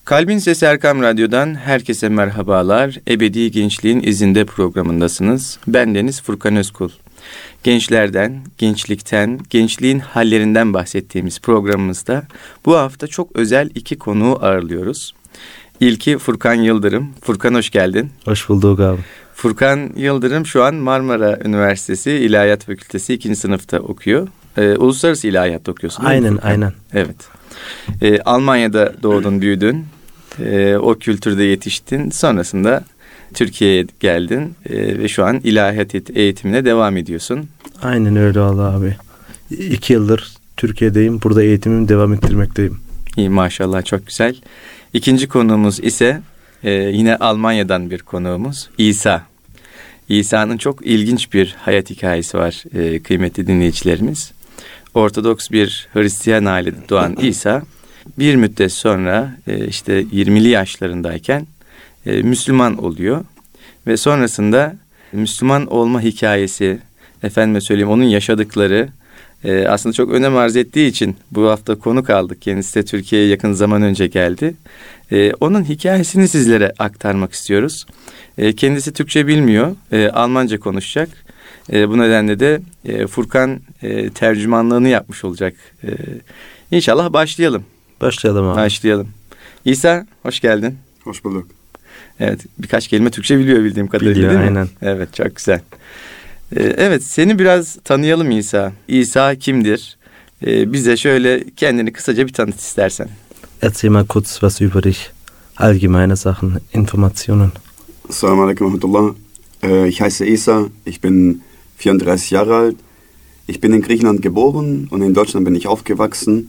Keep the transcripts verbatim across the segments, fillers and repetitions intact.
Kalbin Sesi Erkam Radyo'dan herkese merhabalar. Ebedi Gençliğin izinde programındasınız. Ben Deniz Furkan Özkul. Gençlerden, gençlikten, gençliğin hallerinden bahsettiğimiz programımızda bu hafta çok özel iki konuğu ağırlıyoruz. İlki Furkan Yıldırım. Furkan hoş geldin. Hoş bulduk abi. Furkan Yıldırım şu an Marmara Üniversitesi İlahiyat Fakültesi ikinci sınıfta okuyor. Ee, Uluslararası İlahiyat okuyorsun. Aynen, aynen. Evet. Ee, Almanya'da doğdun, büyüdün. Ee, o kültürde yetiştin. Sonrasında Türkiye'ye geldin ee, ve şu an ilahiyat eğitimine devam ediyorsun. Aynen öyle vallahi abi. İki yıldır Türkiye'deyim. Burada eğitimimi devam ettirmekteyim. İyi, maşallah, çok güzel. İkinci konuğumuz ise e, yine Almanya'dan bir konuğumuz İsa. İsa'nın çok ilginç bir hayat hikayesi var e, kıymetli dinleyicilerimiz. Ortodoks bir Hristiyan ailede doğan İsa bir müddet sonra e, işte yirmili yaşlarındayken e, Müslüman oluyor ve sonrasında Müslüman olma hikayesi, efendime söyleyeyim onun yaşadıkları e, aslında çok önem arz ettiği için bu hafta konuk aldık. Kendisi de Türkiye'ye yakın zaman önce geldi. E, onun hikayesini sizlere aktarmak istiyoruz. E, kendisi Türkçe bilmiyor, e, Almanca konuşacak. E, bu nedenle de e, Furkan e, tercümanlığını yapmış olacak. E, İnşallah başlayalım. Başlayalım abi. Başlayalım. İsa, hoş geldin. Hoş bulduk. Evet, birkaç kelime Türkçe biliyor bildiğim kadarıyla, biliyor, değil mi? Aynen. Evet, çok güzel. Ee, evet, seni biraz tanıyalım İsa. İsa kimdir? Ee, bize şöyle kendini kısaca bir tanıt istersen. Erzähl mal kurz was über dich. Allgemeine Sachen, Informationen. Assalamu alaikum wa rahmatullah. Äh, ich heiße İsa, ich bin vierunddreißig Jahre alt. Ich bin in Griechenland geboren und in Deutschland bin ich aufgewachsen.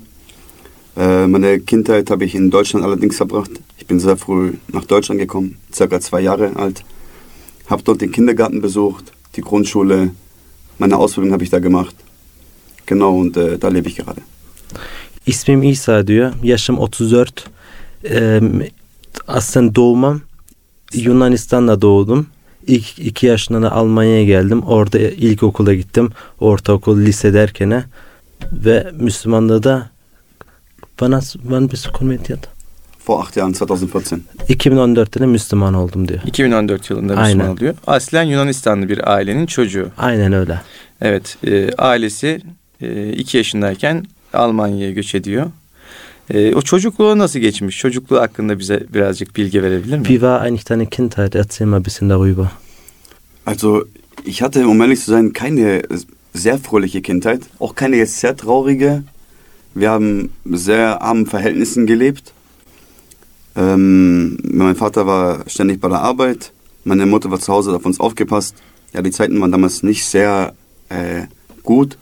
Äh, meine Kindheit habe ich in Deutschland allerdings verbracht. Ich bin sehr früh nach Deutschland gekommen, circa zwei Jahre alt. Habe dort den Kindergarten besucht, die Grundschule. Meine Ausbildung habe ich da gemacht. Genau, und äh, da lebe ich gerade. İsmim İsa diyor. Yaşım otuz dört. Ee, aslında doğumum Yunanistan'da doğdum. İlk iki yaşında Almanya'ya geldim. Orada ilkokula gittim. Ortaokul, lise derken ve Müslümanlığı da bana wann bist du konvertiert? Vor acht Jahren, zwanzig vierzehn. iki bin on dörtte de Müslüman oldum diyor. iki bin on dört yılında Müslüman Aynen. oluyor. Aslen Yunanistanlı bir ailenin çocuğu. Aynen öyle. Evet, e, ailesi e, iki yaşındayken Almanya'ya göç ediyor. E, o çocukluğu nasıl geçmiş? Çocukluğu hakkında bize birazcık bilgi verebilir mi? Wie war eigentlich deine Kindheit? Erzähl mal ein bisschen darüber. Also, ich hatte, um ehrlich zu sein, keine sehr fröhliche Kindheit. Auch keine jetzt sehr traurige. Wir haben sehr armen Verhältnissen gelebt. Ähm, mein Vater war ständig bei der Arbeit. Meine Mutter war zu Hause, hat auf uns aufgepasst. Ja, die Zeiten waren damals nicht sehr äh, gut.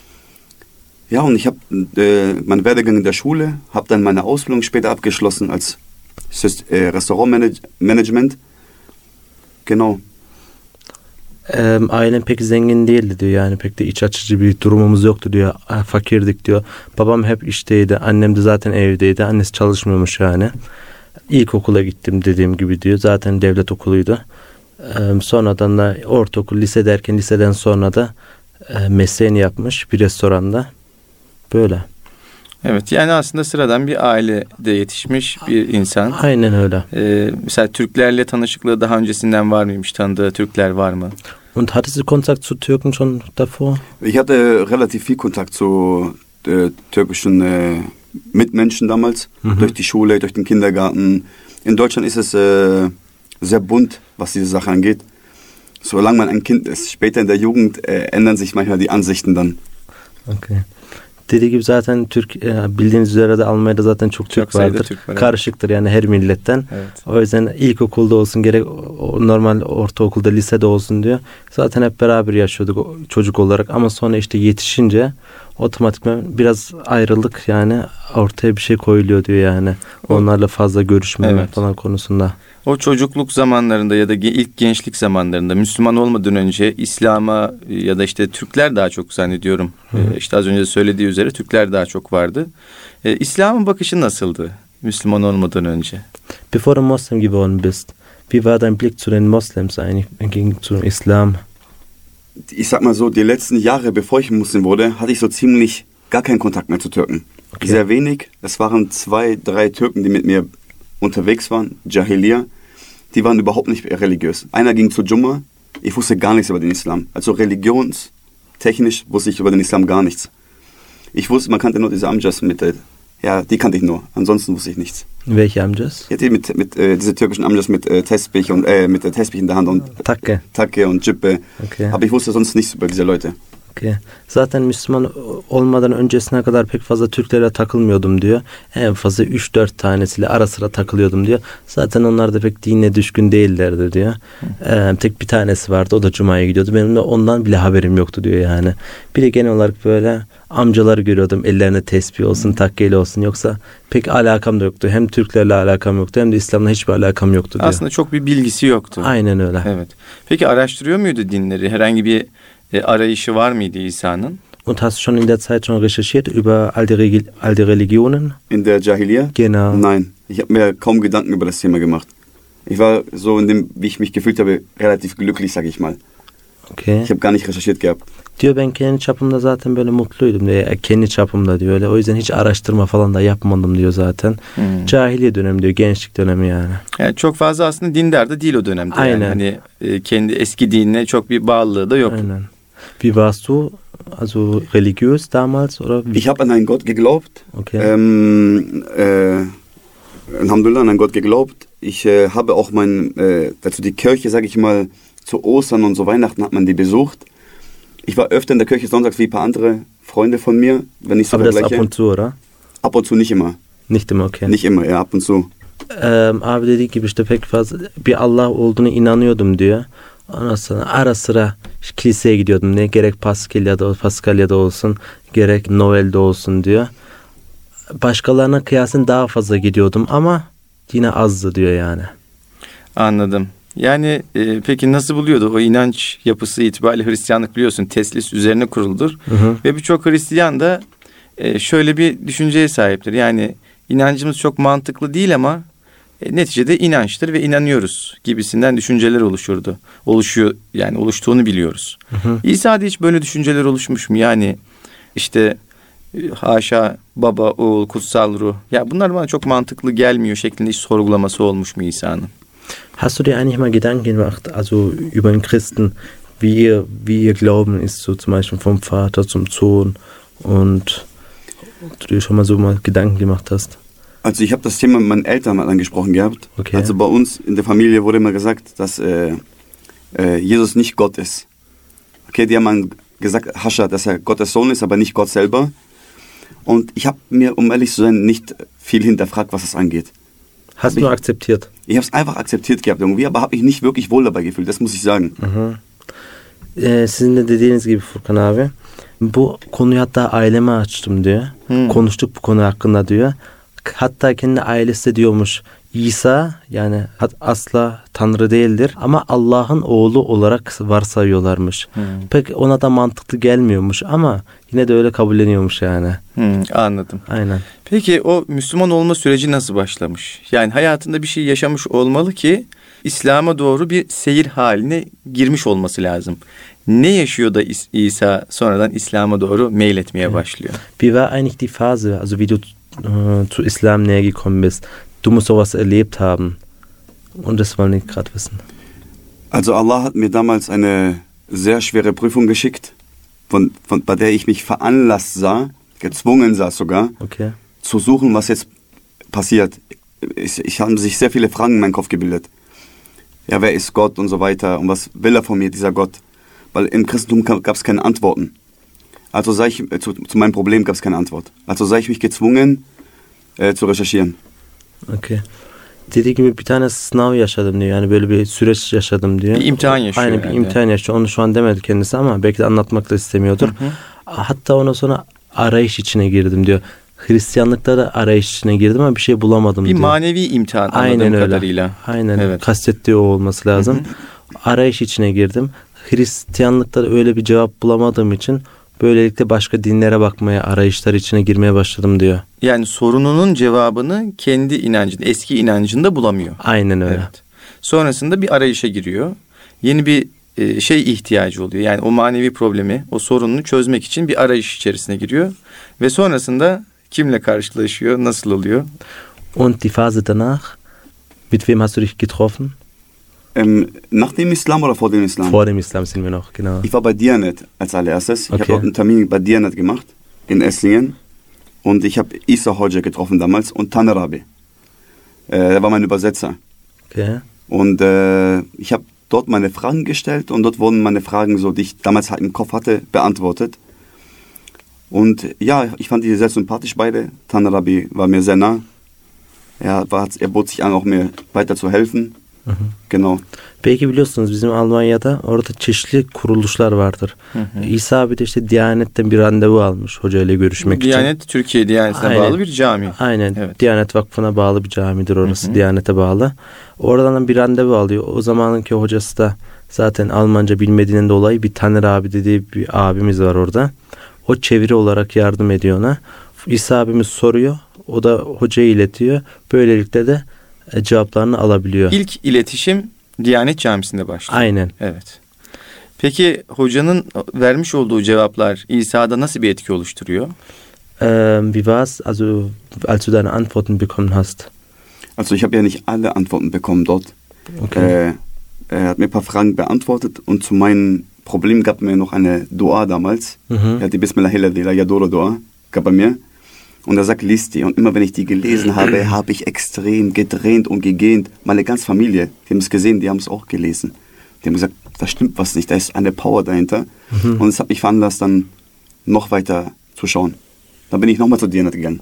Ja, und ich habe äh, meinen Werdegang in der Schule, habe dann meine Ausbildung später abgeschlossen als äh, Restaurantmanagement. Genau. Ee, ailem pek zengin değildi diyor, yani pek de iç açıcı bir durumumuz yoktu diyor, fakirdik diyor. Babam hep işteydi, annem de zaten evdeydi, annesi çalışmıyormuş yani. İlkokula gittim dediğim gibi diyor, zaten devlet okuluydu. Ee, sonradan da ortaokul, lise derken liseden sonra da e, mesleğini yapmış bir restoranda, böyle. Evet, yani aslında sıradan bir ailede yetişmiş bir insan. Aynen öyle. Ee, mesela Türklerle tanışıklığı daha öncesinden var mıymış? Tanıdığı Türkler var mı? Und hattest du Kontakt zu Türken schon davor? Ich hatte relativ viel Kontakt zu äh, türkischen äh, Mitmenschen damals, mhm. durch die Schule, durch den Kindergarten. In Deutschland ist es äh, sehr bunt, was diese Sache angeht. Solange man ein Kind ist, später in der Jugend äh, ändern sich manchmal die Ansichten dann. Okay. Dediği gibi zaten Türk, bildiğiniz üzere de Almanya'da zaten çok Türk çok vardır. Türk var, karışıktır yani her milletten. Evet. O yüzden ilkokulda olsun gerek normal ortaokulda, lisede olsun diyor. Zaten hep beraber yaşıyorduk çocuk olarak, ama sonra işte yetişince otomatikman biraz ayrılık yani ortaya bir şey koyuluyor diyor yani. Onlarla fazla görüşmeme evet. falan konusunda. O çocukluk zamanlarında ya da ilk gençlik zamanlarında Müslüman olmadan önce İslam'a ya da işte Türkler daha çok zannediyorum. Ee, işte az önce söylediği üzere Türkler daha çok vardı. Ee, İslam'ın bakışı nasıldı Müslüman olmadan önce? Bevor du Moslem geworden bist, wie war dein Blick zu den Moslems eigentlich gegen zum Islam? Ich sag mal so, die letzten Jahre, bevor ich Muslim wurde, hatte ich so ziemlich gar keinen Kontakt mehr zu Türken. Okay. Sehr wenig. Es waren zwei, drei Türken, die mit mir unterwegs waren, Jahiliya, die waren überhaupt nicht religiös. Einer ging zu Jumma, ich wusste gar nichts über den Islam. Also religionstechnisch wusste ich über den Islam gar nichts. Ich wusste, man kannte nur diese Amjas mit, äh, ja, die kannte ich nur. Ansonsten wusste ich nichts. Welche Amjas? Ja, die mit, mit äh, diese türkischen Amjas mit äh, Tesbih und äh, mit der Tesbih in der Hand und Takke, Takke und Cübbe. Okay. Aber ich wusste sonst nichts über diese Leute. Okay. Zaten Müslüman olmadan öncesine kadar pek fazla Türklere takılmıyordum diyor. En fazla üç dört tanesiyle ara sıra takılıyordum diyor. Zaten onlar da pek dine düşkün değillerdi diyor. Ee, tek bir tanesi vardı, o da Cuma'ya gidiyordu. Benim de ondan bile haberim yoktu diyor yani. Bir de genel olarak böyle amcaları görüyordum. Ellerine tesbih olsun, takkeyle olsun. Yoksa pek alakam da yoktu. Hem Türklerle alakam yoktu hem de İslam'la hiçbir alakam yoktu diyor. Aslında çok bir bilgisi yoktu. Aynen öyle. Evet. Peki araştırıyor muydu dinleri? Herhangi bir e, arayışı var mıydı İsa'nın? Und hast du schon in der Zeit schon recherchiert über all die, Regi- all die Religionen? In der Jahiliya? Genau. Nein, ich habe mir kaum Gedanken über das Thema gemacht. Ich war so in dem, wie ich mich gefühlt habe, relativ glücklich, sage ich mal. Okay. Ich habe gar nicht recherchiert gehabt. Diyor ben kendi çapımda zaten böyle mutluydum diyor. Ya, kendi çapımda diyor öyle. O yüzden hiç araştırma falan da yapmadım diyor zaten. Hmm. Cahiliye dönemi diyor. Gençlik dönemi yani. Yani çok fazla aslında dindar da değil o dönemde. Aynen. Yani hani e, kendi eski dinine çok bir bağlılığı da yok. Aynen. Wie warst du? Also religiös damals oder wie? Ich habe an einen Gott geglaubt. Okay. Ähm, äh, Alhamdulillah, an einen Gott geglaubt. Ich äh, habe auch mein, äh, dazu die Kirche, sage ich mal, zu Ostern und so Weihnachten hat man die besucht. Ich war öfter in der Kirche sonntags wie ein paar andere Freunde von mir, wenn ich so Aber das ab vergleiche. und zu, oder? Ab und zu, nicht immer. Nicht immer, okay. Nicht immer, ja, ab und zu. Ee, abi dediği gibi işte pek fazla bir Allah olduğunu inanıyordum diyor. Ondan sonra ara sıra kiliseye gidiyordum. Ne gerek Paskalya'da, Paskalya'da olsun, gerek Noel'de olsun diyor. Başkalarına kıyasın daha fazla gidiyordum ama yine azdı diyor yani. Anladım. Yani e, peki nasıl buluyordu o inanç yapısı itibariyle? Hristiyanlık biliyorsun teslis üzerine kuruludur. Hı hı. Ve birçok Hristiyan da e, şöyle bir düşünceye sahiptir. Yani inancımız çok mantıklı değil ama e, neticede inançtır ve inanıyoruz gibisinden düşünceler oluşurdu. Oluşuyor yani oluştuğunu biliyoruz. Hı hı. İsa'da hiç böyle düşünceler oluşmuş mu? Yani işte e, haşa baba, oğul, kutsal ruh. Ya bunlar bana çok mantıklı gelmiyor şeklinde hiç sorgulaması olmuş mu İsa'nın? Hast du dir eigentlich mal Gedanken gemacht, also über den Christen, wie ihr, wie ihr Glauben ist, so zum Beispiel vom Vater zum Sohn und ob du dir schon mal so mal Gedanken gemacht hast? Also ich habe das Thema mit meinen Eltern mal angesprochen gehabt. Okay. Also bei uns in der Familie wurde immer gesagt, dass äh, äh, Jesus nicht Gott ist. Okay, die haben dann gesagt, Hascha, dass er Gottes Sohn ist, aber nicht Gott selber. Und ich habe mir, um ehrlich zu sein, nicht viel hinterfragt, was das angeht. Hast du nur akzeptiert? Ich habe es einfach akzeptiert gehabt irgendwie, aber habe mich nicht wirklich wohl dabei gefühlt, das muss ich sagen. Hı hı. Ee, sizin de dediğiniz gibi Furkan abi. Bu konuyu hatta aileme açtım diyor. Hmm. Konuştuk bu konu hakkında diyor. Hatta kendi ailesi de diyormuş İsa yani asla Tanrı değildir ama Allah'ın oğlu olarak varsayıyorlarmış. Hmm. Pek ona da mantıklı gelmiyormuş ama yine de öyle kabulleniyormuş yani. Hmm, anladım. Aynen. Peki o Müslüman olma süreci nasıl başlamış? Yani hayatında bir şey yaşamış olmalı ki İslam'a doğru bir seyir haline girmiş olması lazım. Ne yaşıyor da İsa sonradan İslam'a doğru meyletmeye başlıyor? Wie war eigentlich die Phase, also wie du äh, zu Islam näher gekommen bist? Du musst sowas erlebt haben. Und das wollen wir gerade wissen. Also Allah hat mir damals eine sehr schwere Prüfung geschickt, von, von, bei der ich mich veranlasst sah, gezwungen sah sogar, Okay. zu suchen, was jetzt passiert. Ich, ich habe sich sehr viele Fragen in meinem Kopf gebildet. Ja, wer ist Gott und so weiter und was will er von mir, dieser Gott? Weil im Christentum gab es keine Antworten. Also sah ich, äh, zu, zu meinem Problem gab es keine Antwort. Also sah ich mich gezwungen äh, zu recherchieren. Okay. Dediği gibi bir tane sınav yaşadım diyor. Yani böyle bir süreç yaşadım diyor. Bir imtihan yaşıyor. Aynen bir yani. imtihan yaşıyor. Onu şu an demedi kendisi ama belki de anlatmak da istemiyordur. Hı hı. Hatta ondan sonra arayış içine girdim diyor. Hristiyanlıkta da arayış içine girdim ama bir şey bulamadım Bir diyor. manevi imtihan anladığım Aynen öyle. kadarıyla. Aynen. Evet. Kastettiği o olması lazım. Hı hı. Arayış içine girdim. Hristiyanlıkta da öyle bir cevap bulamadığım için böylelikle başka dinlere bakmaya, arayışlar içine girmeye başladım diyor. Yani sorununun cevabını kendi inancında, eski inancında bulamıyor. Aynen öyle. Evet. Sonrasında bir arayışa giriyor. Yeni bir e, şey ihtiyacı oluyor. Yani o manevi problemi, o sorununu çözmek için bir arayış içerisine giriyor. Ve sonrasında kimle karşılaşıyor, nasıl oluyor? Und die Phase danach, Mit wem hast du dich getroffen? Ähm, nach dem Islam oder vor dem Islam? Vor dem Islam sind wir noch, genau. Ich war bei Diyanet als allererstes. Ich Okay. habe dort einen Termin bei Diyanet gemacht, in Esslingen. Und ich habe Isa Hoca getroffen damals und Taner Rabi. Äh, er war mein Übersetzer. Okay. Und äh, ich habe dort meine Fragen gestellt und dort wurden meine Fragen, so die ich damals halt im Kopf hatte, beantwortet. Und ja, ich fand die sehr sympathisch beide. Taner Rabi war mir sehr nah. Er, war, er bot sich an, auch mir weiter zu helfen. Hı hı. Genau. Belki biliyorsunuz bizim Almanya'da orada çeşitli kuruluşlar vardır. Hı hı. İsa abi de işte Diyanet'ten bir randevu almış hoca ile görüşmek için. Diyanet Türkiye Diyanetine Aynen. bağlı bir cami. Aynen. Evet. Diyanet Vakfı'na bağlı bir camidir orası. Hı hı. Diyanet'e bağlı. Oradan bir randevu alıyor. O zamanınki hocası da zaten Almanca bilmediğinden dolayı bir Taner abi dediği bir abimiz var orada. O çeviri olarak yardım ediyor ona. İsa abimiz soruyor. O da hocaya iletiyor. Böylelikle de e, cevaplarını alabiliyor. İlk iletişim Diyanet Camisi'nde başlıyor. Aynen. Evet. Peki hocanın vermiş olduğu cevaplar İsa'da nasıl bir etki oluşturuyor? Ähm, wie war's, also als du deine Antworten bekommen hast? Also ich habe ja nicht alle Antworten bekommen dort. Okay. Äh, er hat mir ein paar Fragen beantwortet und zu meinem Problem gab mir noch eine Dua damals. Mhm. Er hat die Bismillahirrahmanirrahim, la Yadora Dua, gab er mir. Und er sagt, lies die. Und immer wenn ich die gelesen habe, habe ich extrem gedreht und gegähnt. Meine ganze Familie, die haben es gesehen, die haben es auch gelesen. Die haben gesagt, da stimmt was nicht, da ist eine Power dahinter. Mhm. Und es hat mich veranlasst, dann noch weiter zu schauen. Dann bin ich nochmal zu Diyanet gegangen.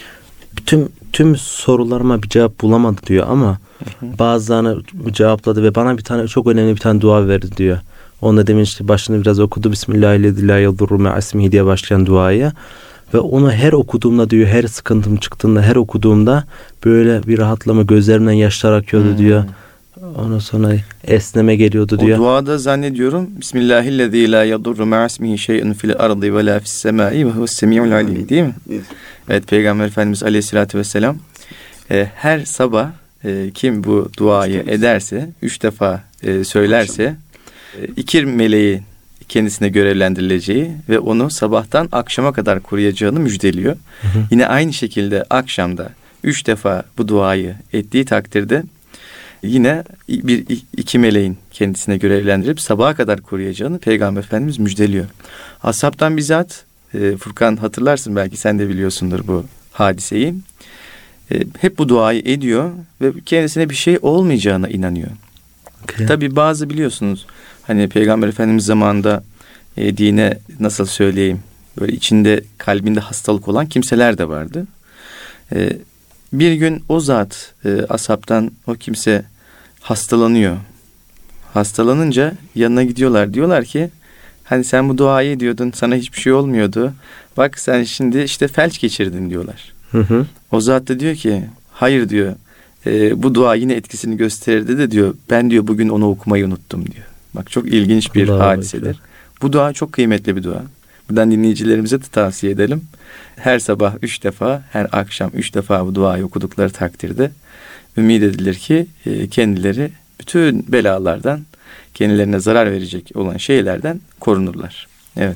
Tüm tüm sorularıma bir cevap bulamadı diyor ama bazılarını cevapladı ve bana bir tane çok önemli bir tane dua verdi diyor. Onu da demin işte başını biraz okudu. Bismillahirrahmanirrahim diye başlayan duayı. Ve onu her okuduğumda diyor, her sıkıntım çıktığında, her okuduğumda böyle bir rahatlama, gözlerimden yaşlar akıyordu Hmm. diyor. Ondan sonra esneme geliyordu diyor. O duada zannediyorum Bismillahirrahmanirrahim la yadurru ma'asmihi şey'un fil ardı ve la fis semai ve huves semi'ul alim, değil mi? Yes. Evet, Peygamber Efendimiz Aleyhisselatü Vesselam e, her sabah e, kim bu duayı ederse, üç defa e, söylerse e, iki meleği kendisine görevlendirileceği ve onu sabahtan akşama kadar koruyacağını müjdeliyor. Hı hı. Yine aynı şekilde akşamda üç defa bu duayı ettiği takdirde yine bir iki meleğin kendisine görevlendirip sabaha kadar koruyacağını Peygamber Efendimiz müjdeliyor. Ashabtan bizzat e, Furkan, hatırlarsın, belki sen de biliyorsundur bu hadiseyi. E, hep bu duayı ediyor ve kendisine bir şey olmayacağına inanıyor. Okay. Tabii bazı, biliyorsunuz, hani Peygamber Efendimiz zamanında e, dine nasıl söyleyeyim, böyle içinde kalbinde hastalık olan kimseler de vardı. E, bir gün o zat e, ashabtan o kimse hastalanıyor. Hastalanınca yanına gidiyorlar. Diyorlar ki hani sen bu duayı ediyordun, sana hiçbir şey olmuyordu. Bak sen şimdi işte felç geçirdin diyorlar. Hı hı. O zat da diyor ki hayır diyor. E, bu dua yine etkisini gösterirdi de diyor. Ben diyor bugün onu okumayı unuttum diyor. Bak çok ilginç bir Allah hadisedir. Allah. Bu dua çok kıymetli bir dua. Buradan dinleyicilerimize de tavsiye edelim. Her sabah üç defa, her akşam üç defa bu duayı okudukları takdirde ümit edilir ki e, kendileri bütün belalardan, kendilerine zarar verecek olan şeylerden korunurlar. Evet.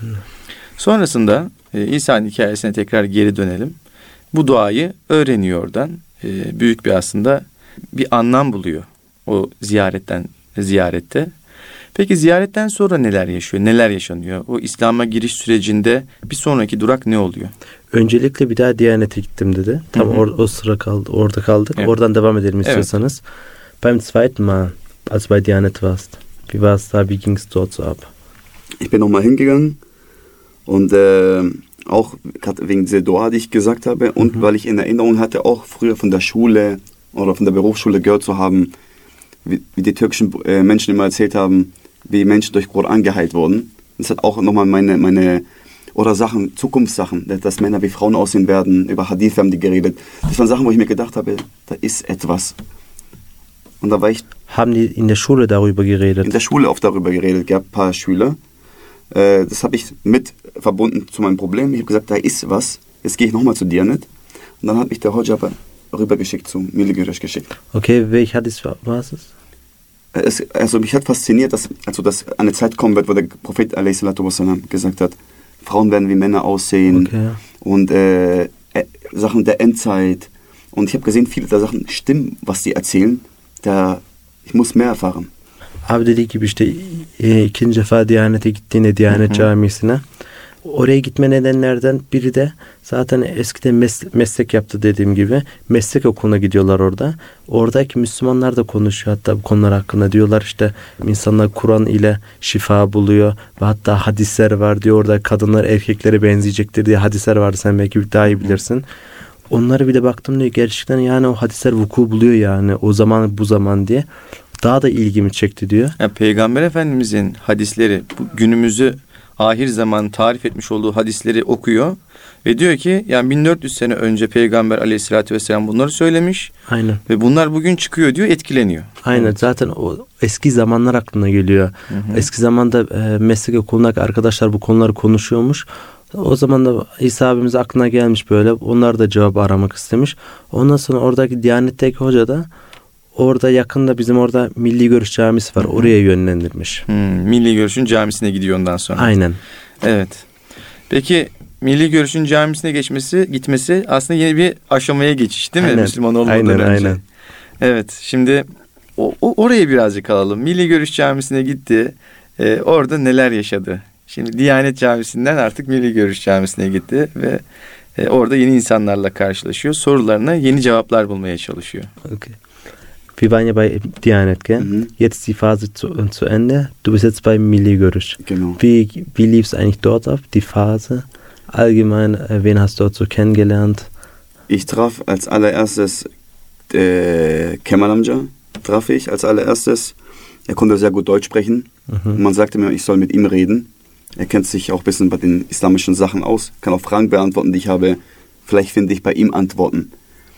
Sonrasında e, İsa'nın hikayesine tekrar geri dönelim. Bu duayı öğreniyor oradan. E, büyük bir aslında bir anlam buluyor o ziyaretten ziyarette. Peki ziyaretten sonra neler yaşıyor? Neler yaşanıyor? O İslam'a giriş sürecinde bir sonraki durak ne oluyor? Öncelikle bir daha Diyanet'e gittim dedi. Tam or- o sıra kaldı, orada kaldık. Evet. Oradan devam edelim istiyorsanız. Evet. Beim zweiten Mal, als du bei Diyanet warst, wie war es da, wie ging es dort so ab? Ich bin nochmal hingegangen und äh, auch wegen dieser Dua, die ich gesagt habe und mhm. weil ich in Erinnerung hatte, auch früher von der Schule oder von der Berufsschule gehört zu haben, wie, wie die türkischen äh, Menschen immer erzählt haben, wie Menschen durch Koran geheilt wurden. Das hat auch nochmal meine, meine, oder Sachen, Zukunftssachen, dass Männer wie Frauen aussehen werden, über Hadith haben die geredet. Das waren Sachen, wo ich mir gedacht habe, da ist etwas. Und da war ich... Haben die in der Schule darüber geredet? In der Schule oft darüber geredet, es gab ein paar Schüler. Äh, das habe ich mit verbunden zu meinem Problem. Ich habe gesagt, da ist was, jetzt gehe ich nochmal zu Diyanet. Und dann hat mich der Hoca rübergeschickt, zum Milligürisch geschickt. Okay, welch Hadith war es? Es, also mich hat fasziniert, dass also dass eine Zeit kommen wird, wo der Prophet alaihi salatu wassalam gesagt hat, Frauen werden wie Männer aussehen, okay. und äh, äh, Sachen der Endzeit Und ich habe gesehen, viele der Sachen stimmen, was die erzählen. Da, ich muss mehr erfahren. Abi dediği gibi işte e, ikinci defa Diyanet'e gittiğinde Diyanet Camisi'ne. Oraya gitme nedenlerden biri de zaten eskiden mes- meslek yaptı dediğim gibi. Meslek okuluna gidiyorlar orada. Oradaki Müslümanlar da konuşuyor hatta bu konular hakkında. Diyorlar işte insanlar Kur'an ile şifa buluyor. Ve hatta hadisler var diyor. Orada kadınlar erkeklere benzeyecektir diye hadisler vardı. Sen belki daha iyi bilirsin. Onlara bir de baktım diyor. Gerçekten yani o hadisler vuku buluyor yani. O zaman bu zaman diye. Daha da ilgimi çekti diyor. Yani Peygamber Efendimizin hadisleri bu günümüzü ahir zaman tarif etmiş olduğu hadisleri okuyor ve diyor ki yani bin dört yüz sene önce Peygamber Aleyhisselatü Vesselam bunları söylemiş. Aynen. Ve bunlar bugün çıkıyor diyor, etkileniyor. Aynen. Evet. Zaten o eski zamanlar aklına geliyor. Hı hı. Eski zamanda e, meslek okulundaki arkadaşlar bu konuları konuşuyormuş. O zaman da İsa abimiz aklına gelmiş böyle. Onlar da cevap aramak istemiş. Ondan sonra oradaki Diyanet'teki hoca da orada yakında bizim orada Milli Görüş Camisi var. Hı-hı. Oraya yönlendirmiş. Hmm, Milli Görüş'ün camisine gidiyor ondan sonra. Aynen. Evet. Peki Milli Görüş'ün camisine geçmesi, gitmesi aslında yeni bir aşamaya geçiş değil mi? Aynen. Müslüman olmadan aynen, önce. Aynen. Evet. Şimdi o, o, oraya birazcık alalım. Milli Görüş Camisi'ne gitti. Ee, orada neler yaşadı? Şimdi Diyanet Camisi'nden artık Milli Görüş Camisi'ne gitti ve e, orada yeni insanlarla karşılaşıyor. Sorularına yeni cevaplar bulmaya çalışıyor. Okay. Wir waren ja bei Diyanet, gell? Mhm. Jetzt ist die Phase zu, zu Ende. Du bist jetzt bei Milli Görüş. Genau. Wie, wie lief es eigentlich dort ab, die Phase? Allgemein, äh, wen hast du dort so kennengelernt? Ich traf als allererstes äh, Kemal Amca, traf ich als allererstes. Er konnte sehr gut Deutsch sprechen. Mhm. Man sagte mir, ich soll mit ihm reden. Er kennt sich auch ein bisschen bei den islamischen Sachen aus, kann auch Fragen beantworten, die ich habe. Vielleicht finde ich bei ihm Antworten.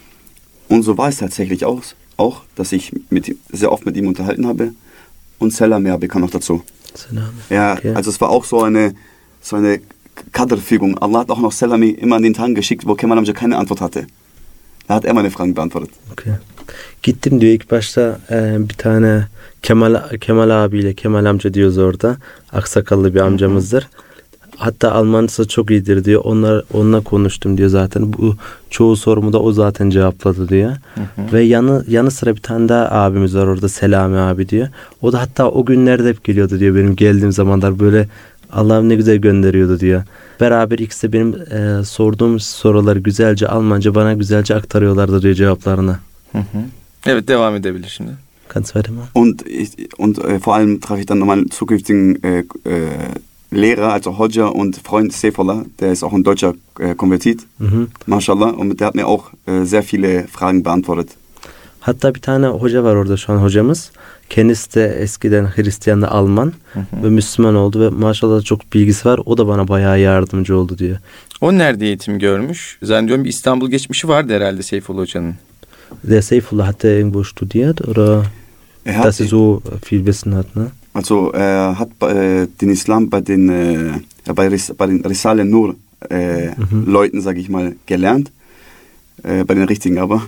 Und so war es tatsächlich auch. Auch, dass ich mit, sehr oft mit ihm unterhalten habe. Und Selam Erbe kam noch dazu. Selam. Ja, okay. Also es war auch so eine, so eine Kaderfügung. Allah hat auch noch Selami immer an den Tagen geschickt, wo Kemal Amca keine Antwort hatte. Da hat er meine Fragen beantwortet. Okay. Gittim diyor ilk başta e, bir tane Kemal Kemal abiyle, Kemal amca diyoruz orada. Aksakallı bir amcamızdır. Hatta Almancası çok iyidir diyor. Onlar onunla konuştum diyor zaten. Bu çoğu sorumu da o zaten cevapladı diyor. Hı hı. Ve yanı yanı sıra bir tane daha abimiz var orada, Selami abi diyor. O da hatta o günlerde hep geliyordu diyor. Benim geldiğim zamanlar böyle Allah'ım ne güzel gönderiyordu diyor. Beraber ikisi de benim e, sorduğum soruları güzelce Almanca bana güzelce aktarıyorlardı diyor cevaplarını. Hı hı. Evet, devam edebilir şimdi. Kannst weitermachen. Und ich, und äh, vor allem traf ich dann meinen zukünftigen äh, äh, Lehrer, also Hoca und Freund Seyfullah, der ist auch ein deutscher äh, Konvertit, mhm. Maşallah, und der hat mir auch äh, sehr viele Fragen beantwortet. Hatta bir tane hoca var orada şu an hocamız. Kendisi de eskiden Hristiyan da Alman hı hı. ve Müslüman oldu ve maşallah çok bilgisi var. O da bana bayağı yardımcı oldu diyor. O nerede eğitim görmüş? Zannediyorum bir İstanbul geçmişi vardı herhalde Seyfullah Hoca'nın. Der Seyfullah hat er irgendwo studiert oder er hat, dass er so viel Wissen hat, ne? Also er hat äh, den Islam bei den äh, bei, Ris, bei den Risale Nur äh, mhm. Leuten, sage ich mal, gelernt, äh, bei den richtigen aber.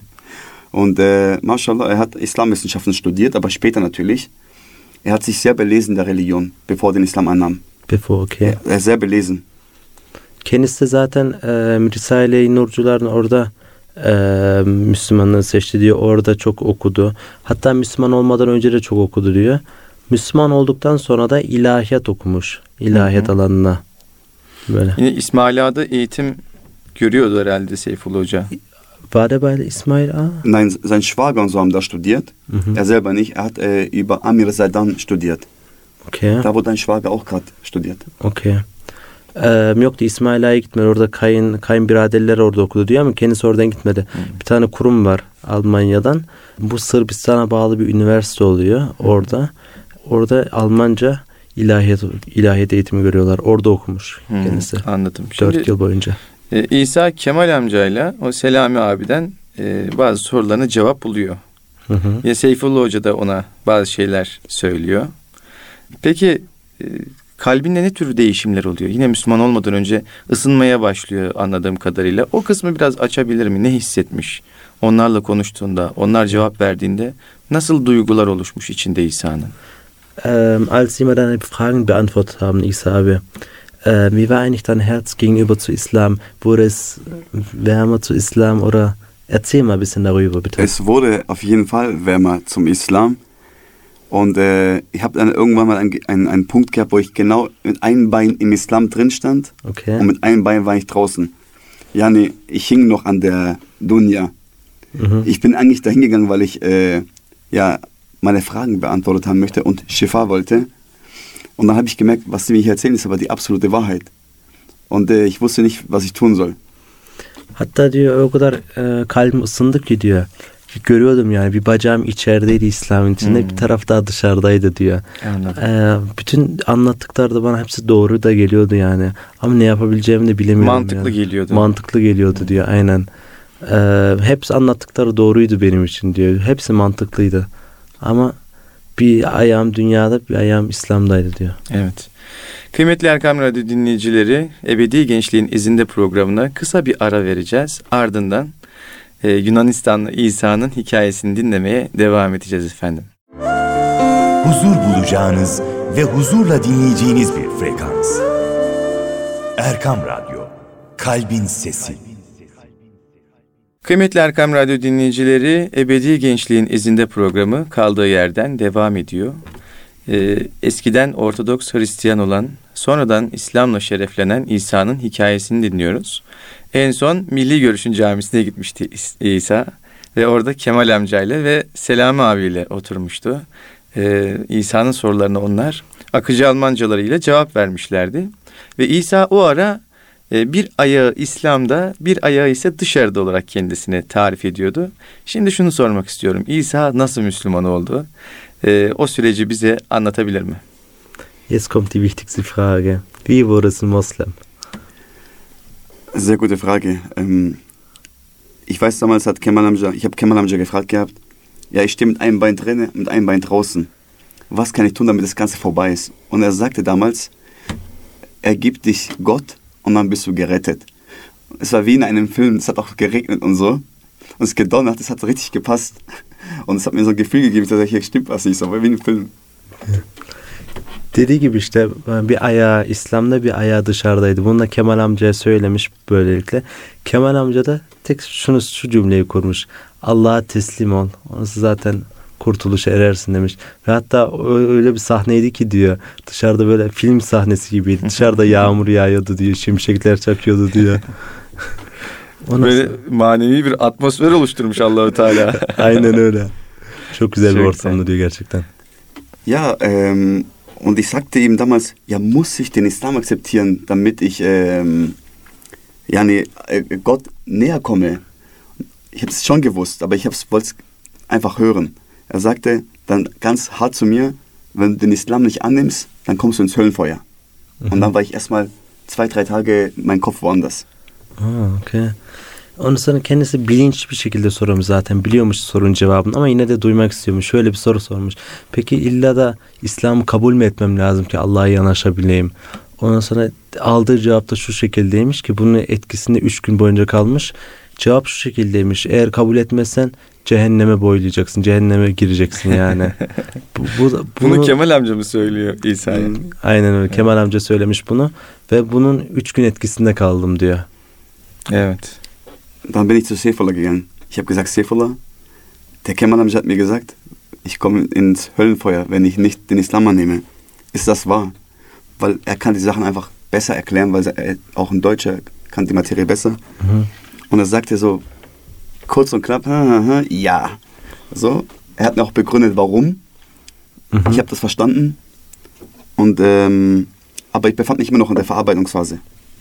Und äh, Mashallah, er hat Islamwissenschaften studiert, aber später natürlich. Er hat sich sehr belesen der Religion, bevor er den Islam annahm. Bevor, okay. Er, er ist sehr belesen. Kendisi de zaten e, Risale-i Nurcuların orada e, Müslümanlığı seçti diyor. Orada çok okudu. Hatta Müslüman olmadan önce de çok okudu diyor. Müslüman olduktan sonra da ilahiyat okumuş. İlahiyat hı hı. alanına. Böyle. Yine İsmail Ağa'da eğitim görüyordu herhalde Seyfullah Hoca. War der bei İsmail Ağa? Nein, sein Schwager und so haben da studiert. Mhm. Er selber nicht. Er hat äh, über Amir Zaydan studiert. Okay. Da wo dein Schwager auch gerade studiert. Okay. Ee, yoktu, İsmail Ağa'ya gitmedi. Orada kayın, kayınbiraderler orada okudu diyor ama kendisi oradan gitmedi. Hmm. Bir tane kurum var Almanya'dan. Bu Sırbistan'a bağlı bir üniversite oluyor hmm. orada. Orada Almanca ilahiyat, ilahiyat eğitimi görüyorlar. Orada okumuş hmm. kendisi. Anladım. Dört yıl boyunca. E, İsa Kemal amcayla o Selami abiden e, bazı sorularına cevap buluyor. Hı hı. Ya Seyfullah Hoca da ona bazı şeyler söylüyor. Peki e, kalbinde ne tür değişimler oluyor? Yine Müslüman olmadan önce ısınmaya başlıyor anladığım kadarıyla. O kısmı biraz açabilir mi? Ne hissetmiş? Onlarla konuştuğunda, onlar cevap verdiğinde nasıl duygular oluşmuş içinde İsa'nın? Ähm, als sie mir dann Fragen beantwortet haben, İsa abi, äh, wie war eigentlich dein Herz gegenüber zu Islam? Wurde es wärmer zu Islam oder Erzähl mal ein bisschen darüber, bitte. Es wurde auf jeden Fall wärmer zum Islam. Und äh, ich habe dann irgendwann mal einen, einen, einen Punkt gehabt, wo ich genau mit einem Bein im Islam drin stand. Okay. Und mit einem Bein war ich draußen. Ja, nee, ich hing noch an der Dunya. Mhm. Ich bin eigentlich dahin gegangen, weil ich äh, ja, meine Fragen beantwortet haben möchte und Shifa wollte. Und dann habe ich gemerkt, was sie mir hier erzählen, ist aber die absolute Wahrheit. Und e, ich wusste nicht, was ich tun soll. Hatta diyor o kadar e, kalbim ısındı ki diyor. Görüyordum yani bir bacağım içerideydi İslam'ın içinde, hmm. bir taraf daha dışarıdaydı diyor. E, bütün anlattıkları da bana hepsi doğru da geliyordu yani. Ama ne yapabileceğimi de bilemiyorum. Mantıklı yani. geliyordu. Mantıklı geliyordu diyor aynen. E, hepsi anlattıkları doğruydu benim için diyor. Hepsi mantıklıydı. Ama bir ayağım dünyada, bir ayağım İslam'daydı diyor. Evet. Kıymetli Erkam Radyo dinleyicileri, Ebedi Gençliğin İzinde programına kısa bir ara vereceğiz. Ardından e, Yunanistanlı İsa'nın hikayesini dinlemeye devam edeceğiz efendim. Huzur bulacağınız ve huzurla dinleyeceğiniz bir frekans. Erkam Radyo, Kalbin Sesi. Kıymetli Erkam Radyo dinleyicileri, Ebedi Gençliğin İzinde programı kaldığı yerden devam ediyor. Ee, eskiden Ortodoks Hristiyan olan, sonradan İslam'la şereflenen İsa'nın hikayesini dinliyoruz. En son Milli Görüş'ün camisine gitmişti İsa ve orada Kemal amcayla ve Selami abiyle oturmuştu. Ee, İsa'nın sorularına onlar akıcı Almancalarıyla cevap vermişlerdi. Ve İsa o ara e, bir ayağı İslam'da, bir ayağı ise dışarıda olarak kendisine tarif ediyordu. Şimdi şunu sormak istiyorum. İsa nasıl Müslüman oldu? Ee, o süreci bize anlatabilir mi? Jetzt kommt die wichtigste Frage. Wie wurdest du Moslem? Sehr gute Frage. Ähm, ich weiß, damals hat Kemal Amca, ich habe Kemal Amca gefragt gehabt, ja, ich stehe mit einem Bein drinnen, mit einem Bein draußen. Was kann ich tun, damit das Ganze vorbei ist? Und er sagte damals, ergib dich Gott und dann bist du gerettet. Es war wie in einem Film, es hat auch geregnet und so. Und es gedonnert, es hat richtig gepasst. Und es hat mir so ein Gefühl gegeben, dass hier stimmt was nicht, so wie ein Film. Dediği gibi işte bir ayağı İslam'da, bir ayağı dışarıdaydı. Bunu da Kemal amcaya söylemiş böylelikle. Kemal amca da tek şunu şu cümleyi kurmuş. Allah'a teslim ol. Onası zaten kurtuluşa erersin demiş. Ve hatta öyle bir sahneydi ki diyor. Dışarıda böyle film sahnesi gibiydi. Dışarıda yağmur yağıyordu diyor. Şimşekler çakıyordu diyor. Böyle manevi bir atmosfer oluşturmuş Allah-u Teala. Aynen öyle. Çok güzel Çok bir ortamdı diyor gerçekten. Ja, ähm, und ich sagte ihm damals, ja, muss ich den Islam akzeptieren, damit ich ähm, yani, äh, Gott näher komme. Ich habe es schon gewusst, aber ich wollte es einfach hören. Er sagte dann ganz hart zu mir, wenn du den Islam nicht annimmst, dann kommst du ins Höllenfeuer. Mhm. Und dann war ich erstmal zwei, drei Tage, mein Kopf woanders. Aa, okay. Onu sana kendisi bilinçli bir şekilde sormuş zaten. Biliyormuş sorunun cevabını ama yine de duymak istiyormuş. Şöyle bir soru sormuş. Peki illa da İslam'ı kabul mü etmem lazım ki Allah'a yanaşabileyim? Ondan sonra aldığı cevap da şu şekildeymiş ki bunun etkisinde üç gün boyunca kalmış. Cevap şu şekildeymiş. Eğer kabul etmezsen cehenneme boylayacaksın. Cehenneme gireceksin yani. bu, bu, bunu, bunu Kemal amca mı söylüyor İsa'ya? Aynen öyle. Kemal amca söylemiş bunu. Ve bunun üç gün etkisinde kaldım diyor. Evet. Dann bin ich zu Seyfullah gegangen. Ich habe gesagt, Seyfullah, der Kemal Amca hat mir gesagt, ich komme ins Höllenfeuer, wenn ich nicht den Islam annehme. Ist das wahr? Weil er kann die Sachen einfach besser erklären, weil er auch ein Deutscher kann die Materie besser. Mhm. Und er sagte so kurz und knapp, ha, ha, ha, ja. So, er hat mir auch begründet, warum. Mhm. Ich habe das verstanden. Und ähm, aber ich befand mich immer noch in der Verarbeitungsphase.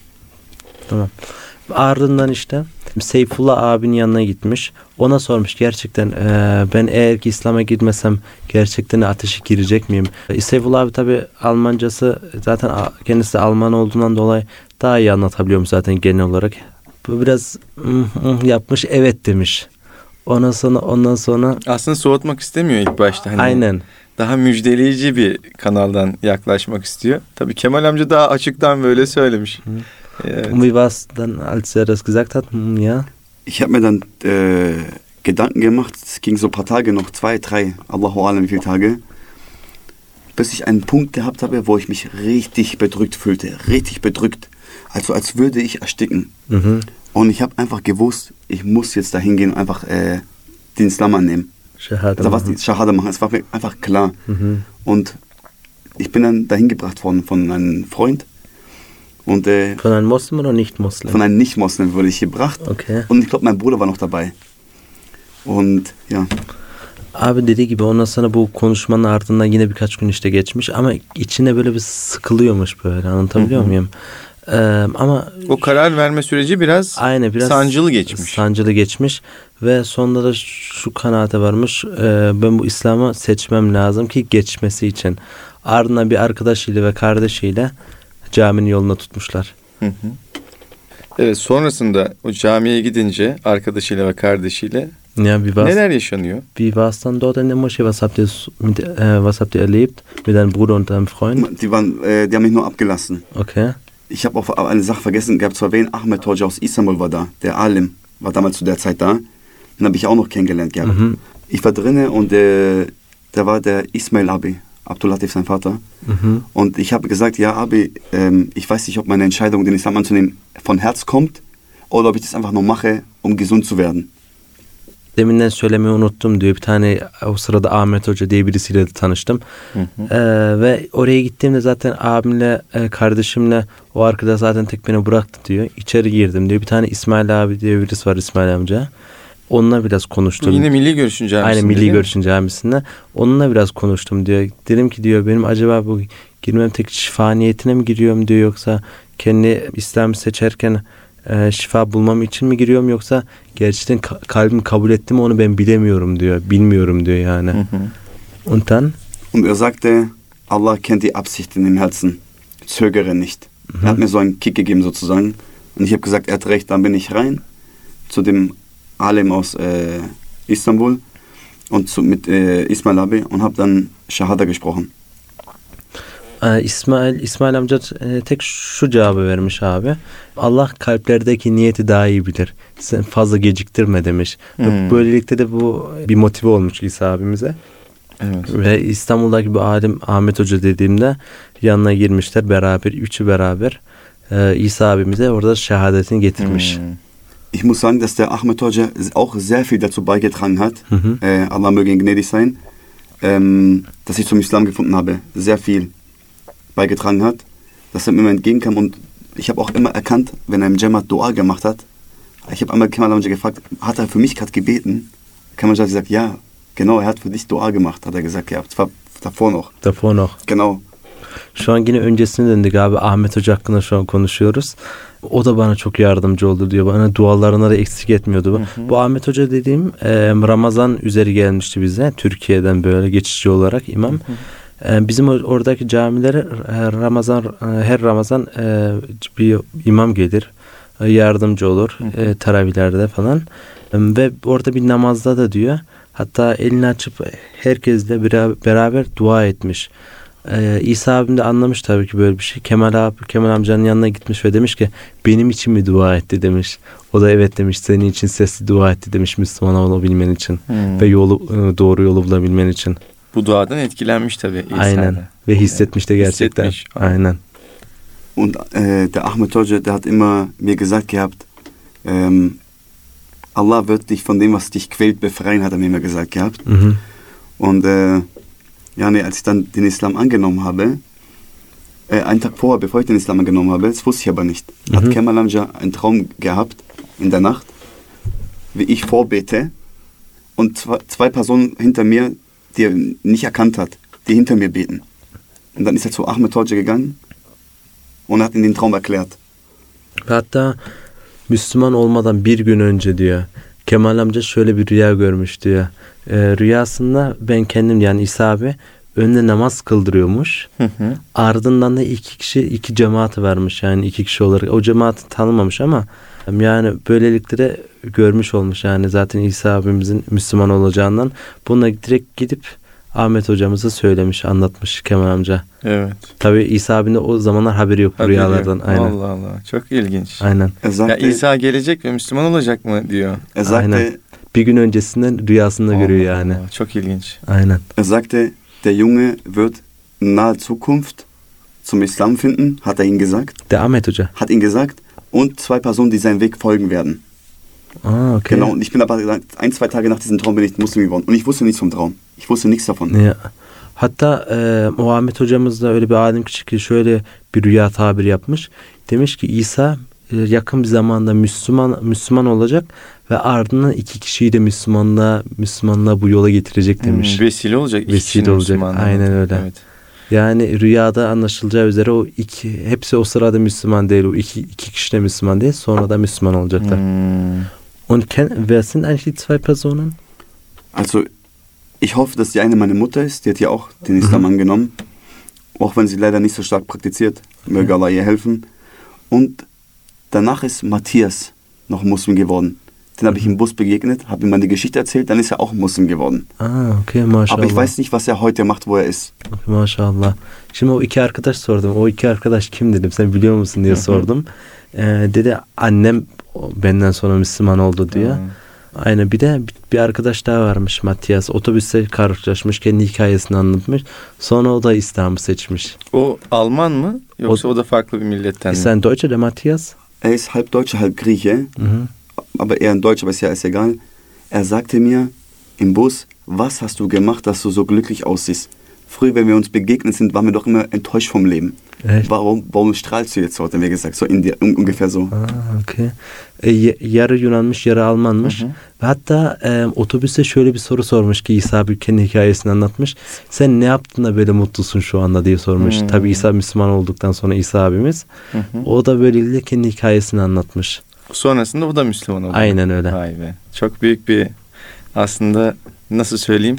Tamam. Ardından işte Seyfullah abinin yanına gitmiş. Ona sormuş gerçekten e, ben eğer ki İslam'a gitmesem gerçekten ateşe girecek miyim? E, Seyfullah abi tabi Almancası zaten kendisi Alman olduğundan dolayı daha iyi anlatabiliyormuş zaten genel olarak. Bu biraz mm, mm, yapmış evet demiş. Ondan sonra ondan sonra aslında soğutmak istemiyor ilk başta. Hani aynen. Daha müjdeleyici bir kanaldan yaklaşmak istiyor. Tabii Kemal amca daha açıktan böyle söylemiş. Hı. Evet. Und wie war es dann, als er das gesagt hat? Ja. Ich habe mir dann äh, Gedanken gemacht. Es ging so ein paar Tage noch, zwei, drei, Allahu Alam, wie viele Tage, bis ich einen Punkt gehabt habe, wo ich mich richtig bedrückt fühlte, richtig bedrückt. Also als würde ich ersticken. Mhm. Und ich habe einfach gewusst, ich muss jetzt da hingehen und einfach äh, den Islam annehmen. Shahada Also was machen. die Shahada machen, es war mir einfach klar. Mhm. Und ich bin dann dahin gebracht worden von einem Freund. Und äh, Von einem Moslem oder Nicht-Moslem? von einem Nicht-Moslem wurde ich gebracht. Okay. Und ich glaube, mein Bruder war noch dabei. Und ja. Abi dediği gibi ondan sonra bu konuşmanın ardından yine birkaç gün işte geçmiş ama içine böyle bir sıkılıyormuş böyle, anlatabiliyor Hı hı. muyum? Ee, ama O karar verme süreci biraz, aynı biraz sancılı geçmiş. Sancılı geçmiş ve sonunda da şu kanaate varmış. E, ben bu İslam'ı seçmem lazım ki geçmesi için. Ardından bir arkadaşıyla ve kardeşiyle caminin yoluna tutmuşlar. Hı hı. Evet, sonrasında o camiye gidince arkadaşıyla ve kardeşiyle Ja, wie war's? neler yaşanıyor? Wie war es dann dort in der Moschee? Was habt ihr mit, äh, was habt ihr erlebt mit deinem Bruder und deinem Freund? Die, waren, äh, die haben mich nur abgelassen. Okay. Ich habe auch eine Sache vergessen gehabt zu erwähnen. Ahmed Hoca aus Istanbul war da. Der Alim war damals zu der Zeit da. Den habe ich auch noch kennengelernt gehabt. Mhm. Ich war drinnen und äh, da war der Ismail Abi, Abdulatif, sein Vater. Mhm. Und ich habe gesagt, ja Abi, ähm, ich weiß nicht, ob meine Entscheidung, den Islam anzunehmen, von Herz kommt oder ob ich das einfach nur mache, um gesund zu werden. Deminden söylemeyi unuttum diyor. Bir tane o sırada Ahmet Hoca diye birisiyle de tanıştım. Hı hı. Ee, ve oraya gittiğimde zaten abimle, e, kardeşimle o arkadaş zaten tek beni bıraktı diyor. İçeri girdim diyor. Bir tane İsmail abi diye birisi var, İsmail amca. Onunla biraz konuştum. Yine Milli Görüş'ün camisinde. Aynen, Milli değil mi? Görüş'ün camisinde. Onunla biraz konuştum diyor. Dedim ki diyor, benim acaba bu girmem tek şifa niyetine mi giriyorum diyor, yoksa kendi İslam'ı seçerken e, şifa bulmam için mi giriyorum, yoksa gerçekten ka- kalbim kabul etti mi onu ben bilemiyorum diyor. Bilmiyorum diyor yani. Hı hı. Und dann? Und er sagte, Allah kennt die Absichten im Herzen. Zögere nicht. Mhm. Er hat mir so einen Kick gegeben sozusagen. Und ich habe gesagt, er hat recht. Dann bin ich rein zu dem Alim aus äh, Istanbul und zu, mit äh, Ismail Abi und habe dann Shahada gesprochen. Ee, İsmail İsmail amca e, tek şu cevabı vermiş abi. Allah kalplerdeki niyeti daha iyi bilir. Sen fazla geciktirme demiş. Ve Hmm. böylelikle de bu bir motive olmuş İsa abimize. Evet. Ve İstanbul'daki bir alim Ahmet Hoca dediğimde yanına girmişler beraber, üçü beraber. Ee, İsa abimize orada şehadetini getirmiş. Hmm. Ich muss sagen, dass der Ahmed Hoca auch sehr viel dazu beigetragen hat. Hı hı. Äh, Allah möge ihn gnädig sein. Ähm, dass ich zum Islam gefunden habe. Sehr viel beigetragen hat. Dass er mir immer entgegenkam und ich habe auch immer erkannt, wenn er im Jamaat Dua gemacht hat. Ich habe einmal Kemal Amca gefragt, hat er für mich gerade gebeten? Kemal Amca hat gesagt, ja, genau, er hat für dich Dua gemacht, hat er gesagt, ja, das war davor noch. Davor noch. Genau. Şu an yine öncesine döndük abi. Ahmet Hoca hakkında şu an konuşuyoruz. O da bana çok yardımcı oldu diyor. Bana dualarına da eksik etmiyordu. Hı hı. Bu Ahmet Hoca dediğim e, Ramazan üzeri gelmişti bize. Türkiye'den böyle geçici olarak imam. Hı hı. E, bizim oradaki camilere e, Ramazan e, her Ramazan e, bir imam gelir. E, yardımcı olur. Hı hı. E, taravihlerde falan. E, ve orada bir namazda da diyor. Hatta elini açıp herkesle beraber, beraber dua etmiş. Ee, İsa abim de anlamış tabii ki böyle bir şey. Kemal abi, Kemal amcanın yanına gitmiş ve demiş ki benim için mi dua etti demiş. O da evet demiş, senin için sesli dua etti demiş, Müslüman olabilmen için Hmm. ve yolu doğru yolu bulabilmen için. Bu duadan etkilenmiş tabii İsa Aynen. da. Ve hissetmiş de gerçekten. Hissetmiş. Aynen. Und äh, der Ahmed Hoca, der hat immer mir gesagt gehabt, ähm, Allah wird dich von dem, was dich quält, befreien, hat er mir immer gesagt gehabt. Hı hı. Und äh, ja, nee, als ich dann den Islam angenommen habe, äh, einen Tag vorher, bevor ich den Islam angenommen habe, das wusste ich aber nicht, Mhm. hat Kemal Amca einen Traum gehabt in der Nacht, wie ich vorbete und zwei, zwei Personen hinter mir, die er nicht erkannt hat, die hinter mir beten. Und dann ist er zu Ahmed Hoca gegangen und hat ihm den Traum erklärt. Ve hatta Müslüman olmadan bir gün önce diyor, Kemal amca şöyle bir rüya görmüş diyor. Ee, rüyasında ben kendim, yani İsa abi önüne namaz kıldırıyormuş. Hı hı. Ardından da iki kişi iki cemaati varmış, yani iki kişi olarak. O cemaati tanımamış ama yani böylelikle de görmüş olmuş, yani zaten İsa abimizin Müslüman olacağından. Bununla direkt gidip Ahmet hocamıza söylemiş, anlatmış Kemal amca. Evet. Tabii İsa abinin o zamanlar haberi yok bu Haberi yok. rüyalardan. Aynen. Allah Allah. Çok ilginç. Aynen. Er Ya sagte, İsa gelecek ve Müslüman olacak mı diyor. er sagte, Aynen. Bir gün öncesinden rüyasında görüyor Allah yani. Allah, çok ilginç. Aynen. er sagte, der Junge wird in naher Zukunft zum Islam finden, hat er ihm gesagt. Der Ahmet Hoca. Hat ihm gesagt. Und zwei Personen, die seinen Weg folgen werden. Ah, okay. Genau, und ich bin aber ein, zwei Tage nach diesem Traum bin ich Muslim geworden. Und ich wusste nichts vom Traum. Ich wusste nichts davon. Ya. Hatta e, o Ahmet hocamız da öyle bir alim ki şöyle bir rüya tabiri yapmış. Demiş ki İsa e, yakın bir zamanda Müslüman Müslüman olacak ve ardından iki kişiyi de Müslümanlığa Müslümanlığa bu yola getirecek demiş. Hmm, vesile olacak. Vesile olacak. Aynen öyle. Evet. Yani rüyada anlaşılacağı üzere o iki hepsi o sırada Müslüman değil. O iki iki kişi de Müslüman değil. Sonra da Müslüman olacaklar. Hmm. Und ken, wer sind eigentlich die zwei Personen? Also ich hoffe, dass die eine meine Mutter ist. Die hat ja auch den Islam mhm. angenommen. Auch wenn sie leider nicht so stark praktiziert. Möge Allah ihr helfen. Und danach ist Matthias noch Muslim geworden. Den habe ich im Bus begegnet, habe ihm meine Geschichte erzählt, dann ist er auch Muslim geworden. Ah, okay, maşallah. Aber ich weiß nicht, was er heute macht, wo er ist. Okay, maşallah. Şimdi o iki arkadaş sordum. O iki arkadaş kim dedim, sen biliyor musun diye sordum. Ee, dedi annem benden sonra Müslüman oldu diyor. Aynen, bir de bir arkadaş daha varmış, Matthias. Otobüste karşılaşmış, kendi hikayesini anlatmış. Sonra o da İslam'ı seçmiş. O Alman mı? Yoksa o, o da farklı bir milletten mi? Ist ein Deutscher, der Matthias? Er ist halb Deutscher, halb Grieche. Mhm. Aber eher ein Deutscher, aber ist ja ist egal. Er sagte mir im Bus, was hast du gemacht, dass du so glücklich aussiehst? Früher, wenn wir uns begegnet sind, waren wir doch immer enttäuscht vom Leben. Echt? Warum, warum strahlst du jetzt so, hat er mir gesagt. So in die, un, ungefähr so. Ah, okay. E, yarı Yunanmış, yarı Almanmış. Hı hı. Ve hatta e, otobüste şöyle bir soru sormuş ki İsa abi kendi hikayesini anlatmış. Sen ne yaptın da böyle mutlusun şu anda diye sormuş. Hmm. Tabii İsa Müslüman olduktan sonra İsa abimiz. Hı hı. O da böylelikle kendi hikayesini anlatmış. Sonrasında o da Müslüman oldu. Aynen öyle. Vay be. Çok büyük bir, aslında nasıl söyleyeyim?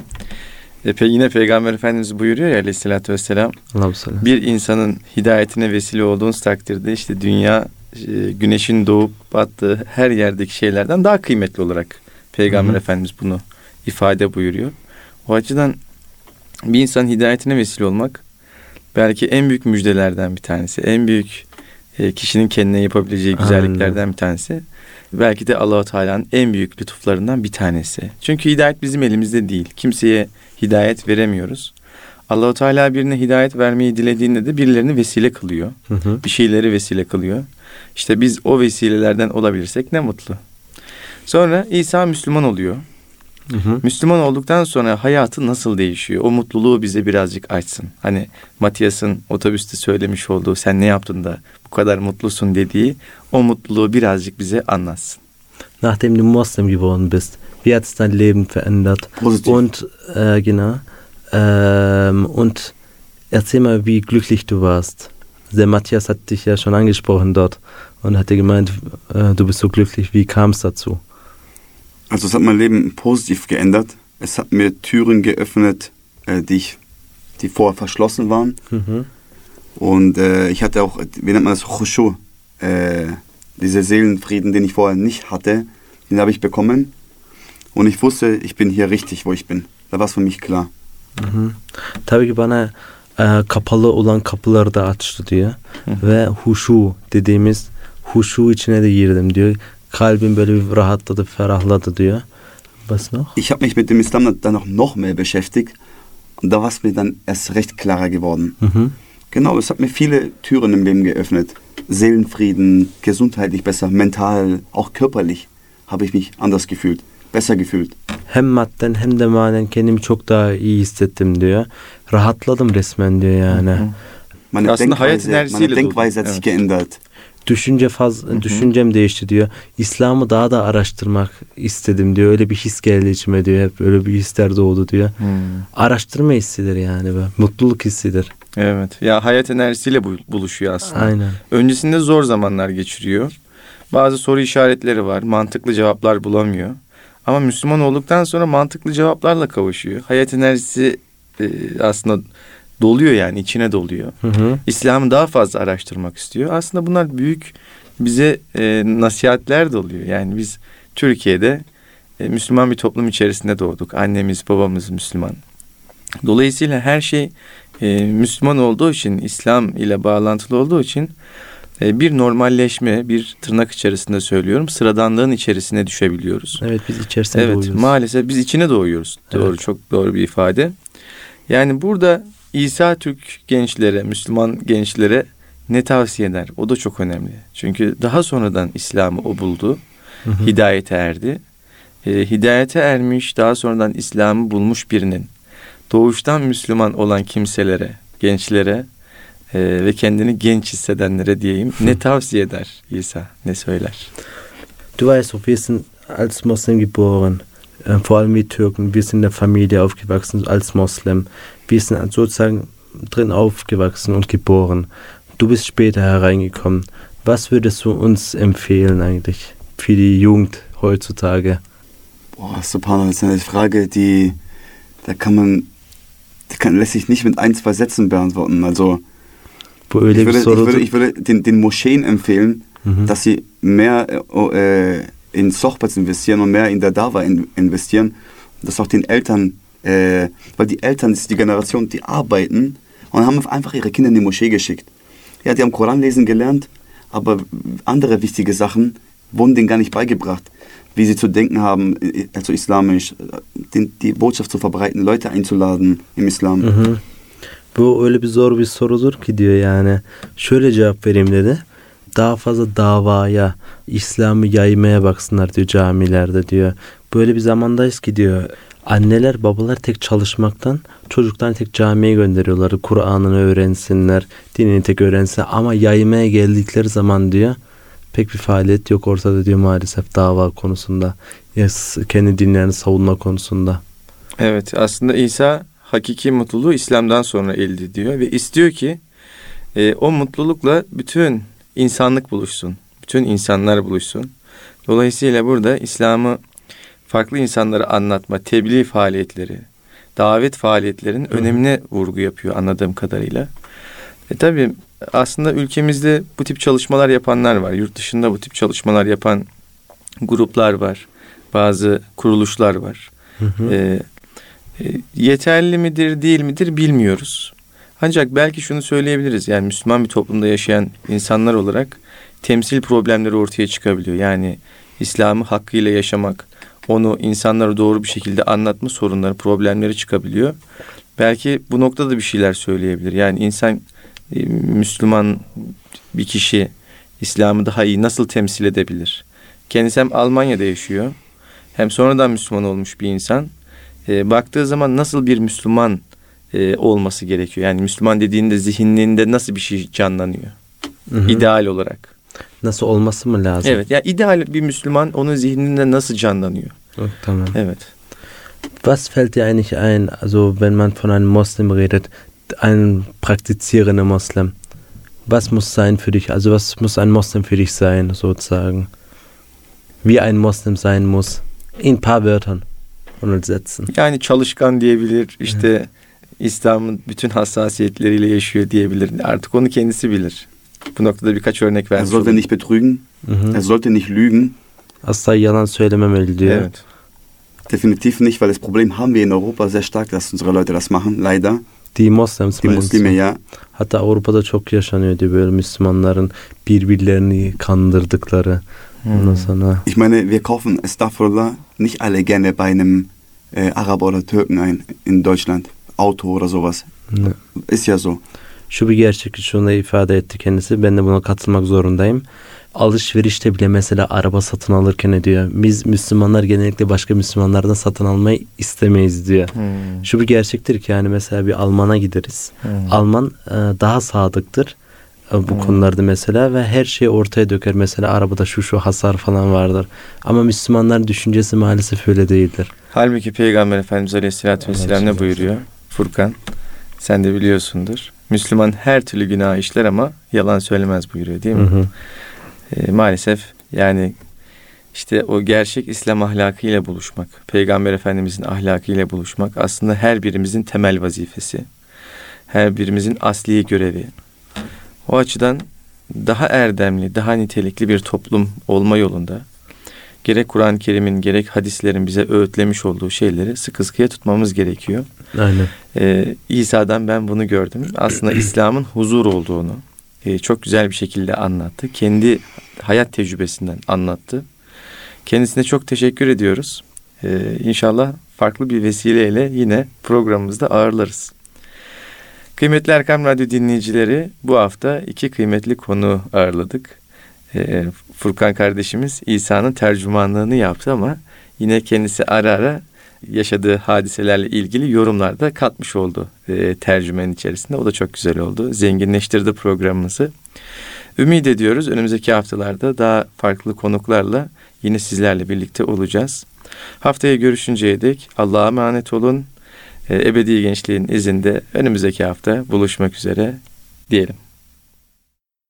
E, yine Peygamber Efendimiz buyuruyor ya aleyhissalatü vesselam. Bir insanın hidayetine vesile olduğunuz takdirde işte dünya, e, güneşin doğup battığı her yerdeki şeylerden daha kıymetli olarak Peygamber Hı-hı. Efendimiz bunu ifade buyuruyor. O açıdan bir insanın hidayetine vesile olmak belki en büyük müjdelerden bir tanesi. En büyük e, kişinin kendine yapabileceği güzelliklerden Aynen. bir tanesi. Belki de Allah-u Teala'nın en büyük lütuflarından bir tanesi. Çünkü hidayet bizim elimizde değil. Kimseye hidayet veremiyoruz. Allah-u Teala birine hidayet vermeyi dilediğinde de birilerini vesile kılıyor. Hı hı. Bir şeyleri vesile kılıyor. İşte biz o vesilelerden olabilirsek ne mutlu. Sonra İsa Müslüman oluyor. Hı hı. Müslüman olduktan sonra hayatı nasıl değişiyor? O mutluluğu bize birazcık açsın. Hani Matthias'ın otobüste söylemiş olduğu sen ne yaptın da bu kadar mutlusun dediği o mutluluğu birazcık bize anlatsın. Nachdem du Moslem geworden bist, wie hat es dein Leben verändert? Positiv. Und äh, genau. Ähm, und erzähl mal, wie glücklich du warst. Der Matthias hat dich ja schon angesprochen dort und hat dir gemeint, äh, du bist so glücklich. Wie kam es dazu? Also es hat mein Leben positiv geändert. Es hat mir Türen geöffnet, äh, die, ich, die vorher verschlossen waren. Mhm. Und äh, ich hatte auch, wie nennt man das, Khushu, äh, dieser Seelenfrieden, den ich vorher nicht hatte, den habe ich bekommen. Und ich wusste, ich bin hier richtig, wo ich bin. Da war es für mich klar. Hı-hı. Tabii ki bana e, kapalı olan kapıları da açtı diyor. Hı-hı. Ve huşu dediğimiz huşu içine de girdim diyor. Kalbim böyle bir rahatladı, ferahladı diyor. Was noch? Ich habe mich mit dem Islam dann noch, noch mehr beschäftigt. Und da war es mir dann erst recht klarer geworden. Hı-hı. Genau, es hat mir viele Türen im Leben geöffnet. Seelenfrieden, gesundheitlich besser, mental, auch körperlich habe ich mich anders gefühlt. Besser gefühlt. Hem madden hem de manen kendimi çok daha iyi hissettim diyor. Rahatladım resmen diyor yani. Meine Denkweise, meine Denkweise hat sich geändert. Düşünce faz, Hı-hı. düşüncem değişti diyor. İslam'ı daha da araştırmak istedim diyor. Öyle bir his geldi içime diyor. Hep öyle bir hisler doğdu diyor. Hmm. Araştırma hissidir yani. Be. Mutluluk hissidir. Evet. Ya hayat enerjisiyle buluşuyor aslında. Aynen. Öncesinde zor zamanlar geçiriyor. Bazı soru işaretleri var. Mantıklı cevaplar bulamıyor. Ama Müslüman olduktan sonra mantıklı cevaplarla kavuşuyor. Hayat enerjisi e, aslında doluyor yani içine doluyor. Hı hı. İslam'ı daha fazla araştırmak istiyor. Aslında bunlar büyük bize e, nasihatler de oluyor. Yani biz Türkiye'de e, Müslüman bir toplum içerisinde doğduk. Annemiz babamız Müslüman. Dolayısıyla her şey e, Müslüman olduğu için, İslam ile bağlantılı olduğu için e, bir normalleşme, bir tırnak içerisinde söylüyorum, sıradanlığın içerisine düşebiliyoruz. Evet, biz içerisine evet, doğuyoruz. Maalesef biz içine doğuyoruz. Evet. Doğru, çok doğru bir ifade. Yani burada İsa Türk gençlere, Müslüman gençlere ne tavsiye eder? O da çok önemli. Çünkü daha sonradan İslam'ı o buldu, hı hı. hidayete erdi. E, hidayete ermiş, daha sonradan İslam'ı bulmuş birinin doğuştan Müslüman olan kimselere, gençlere e, ve kendini genç hissedenlere diyeyim hı. ne tavsiye eder İsa? Ne söyler? Du weißt, wir sind als Muslim geboren. Vor allem wie Türken. Wir sind in der Familie aufgewachsen als Moslem. Wir sind sozusagen drin aufgewachsen und geboren. Du bist später hereingekommen. Was würdest du uns empfehlen eigentlich für die Jugend heutzutage? Boah, Subhanallah, das ist eine Frage, die, da kann man, die kann, lässt sich nicht mit ein, zwei Sätzen beantworten. Also, ich würde, ich würde, ich würde den, den Moscheen empfehlen, mhm. dass sie mehr äh, in Sohbats investieren und mehr in der Dawa in, investieren. Und dass auch den Eltern, äh, weil die Eltern, das ist die Generation, die arbeiten und haben einfach ihre Kinder in die Moschee geschickt. Ja, die haben Koran lesen gelernt, aber andere wichtige Sachen wurden denen gar nicht beigebracht. Wie sie zu denken haben, also islamisch, den, die Botschaft zu verbreiten, Leute einzuladen im Islam. Hı hı. Bu öyle bir zor bir sorudur ki diyor yani. Şöyle cevap vereyim dedi. Daha fazla davaya, İslam'ı yaymaya baksınlar diyor camilerde diyor. Böyle bir zamandayız ki diyor. Anneler babalar tek çalışmaktan çocuklarını tek camiye gönderiyorlar. Kur'an'ını öğrensinler, dinini tek öğrensinler. Ama yaymaya geldikleri zaman diyor pek bir faaliyet yok ortada diyor maalesef dava konusunda. Kendi dinlerini savunma konusunda. Evet, aslında İsa hakiki mutluluğu İslam'dan sonra elde ediyor ve istiyor ki e, o mutlulukla bütün insanlık buluşsun. Bütün insanlar buluşsun. Dolayısıyla burada İslam'ı farklı insanlara anlatma, tebliğ faaliyetleri, davet faaliyetlerinin Hı. önemine vurgu yapıyor anladığım kadarıyla. E tabii aslında ülkemizde bu tip çalışmalar yapanlar var. Yurt dışında bu tip çalışmalar yapan gruplar var. Bazı kuruluşlar var. Hı hı. E, e, yeterli midir değil midir bilmiyoruz. Ancak belki şunu söyleyebiliriz. Yani Müslüman bir toplumda yaşayan insanlar olarak temsil problemleri ortaya çıkabiliyor. Yani İslam'ı hakkıyla yaşamak, onu insanlara doğru bir şekilde anlatma sorunları, problemleri çıkabiliyor. Belki bu noktada bir şeyler söyleyebilir. Yani insan, Müslüman bir kişi İslam'ı daha iyi nasıl temsil edebilir? Kendisi hem Almanya'da yaşıyor, hem sonradan Müslüman olmuş bir insan. E, baktığı zaman nasıl bir Müslüman e, olması gerekiyor? Yani Müslüman dediğinde zihninde nasıl bir şey canlanıyor? Hı hı. İdeal olarak. Nasıl olması mı lazım? Evet. Yani ideal bir Müslüman onun zihninde nasıl canlanıyor? Oh, tamam. Evet. Was fällt dir eigentlich ein, also wenn man von einem Moslem redet, ein praktizierender Moslem? Was muss sein für dich? Also was muss ein Moslem für dich sein, sozusagen? Wie ein Moslem sein muss? In ein paar Wörtern und Sätzen. Yani çalışkan diyebilir, işte evet. İslam'ın bütün hassasiyetleriyle yaşıyor diyebilir. Artık onu kendisi bilir. Bu noktada birkaç örnek vermiş. Er sollte nicht betrügen, mhm. er sollte nicht lügen. Asla yalan söylememeli diyor. Evet. Definitiv nicht, weil das Problem haben wir in Europa sehr stark, dass unsere Leute das machen, leider. Die Moslems, die Muslime ya. Hatta Avrupa'da çok yaşanıyor diyor böyle Müslümanların birbirlerini kandırdıkları. Hmm. Ondan sonra. Ich meine, wir kaufen estağfurullah nicht alle gerne bei einem äh, Araber oder Türken ein in Deutschland. Auto oder sowas. Ne. Ist ja so. Şu bir gerçek, şunu da ifade etti kendisi. Ben de buna katılmak zorundayım. Alışverişte bile mesela araba satın alırken diyor. Biz Müslümanlar genellikle başka Müslümanlardan satın almayı istemeyiz diyor. Hmm. Şu bir gerçektir ki yani mesela bir Alman'a gideriz. Hmm. Alman e, daha sadıktır e, bu hmm. konularda mesela ve her şeyi ortaya döker. Mesela arabada şu şu hasar falan vardır. Ama Müslümanların düşüncesi maalesef öyle değildir. Halbuki Peygamber Efendimiz Aleyhisselatü Vesselam ne buyuruyor? Furkan, sen de biliyorsundur. Müslüman her türlü günah işler ama yalan söylemez buyuruyor değil mi? Hı hı. E, maalesef yani işte o gerçek İslam ahlakıyla buluşmak, Peygamber Efendimizin ahlakıyla buluşmak aslında her birimizin temel vazifesi. Her birimizin asli görevi. O açıdan daha erdemli, daha nitelikli bir toplum olma yolunda gerek Kur'an-ı Kerim'in gerek hadislerin bize öğütlemiş olduğu şeyleri sıkı sıkıya tutmamız gerekiyor. Aynen. Ee, İsa'dan ben bunu gördüm. Aslında İslam'ın huzur olduğunu e, çok güzel bir şekilde anlattı. Kendi hayat tecrübesinden anlattı. Kendisine çok teşekkür ediyoruz. Ee, İnşallah farklı bir vesileyle yine programımızda ağırlarız. Kıymetli Erkam Radyo dinleyicileri, bu hafta iki kıymetli konu ağırladık. Ee, Furkan kardeşimiz İsa'nın tercümanlığını yaptı ama yine kendisi ara ara yaşadığı hadiselerle ilgili yorumlar da katmış oldu e, tercümenin içerisinde. O da çok güzel oldu. Zenginleştirdi programımızı. Ümit ediyoruz önümüzdeki haftalarda daha farklı konuklarla yine sizlerle birlikte olacağız. Haftaya görüşünceye dek Allah'a emanet olun. E, ebedi gençliğin izinde önümüzdeki hafta buluşmak üzere diyelim.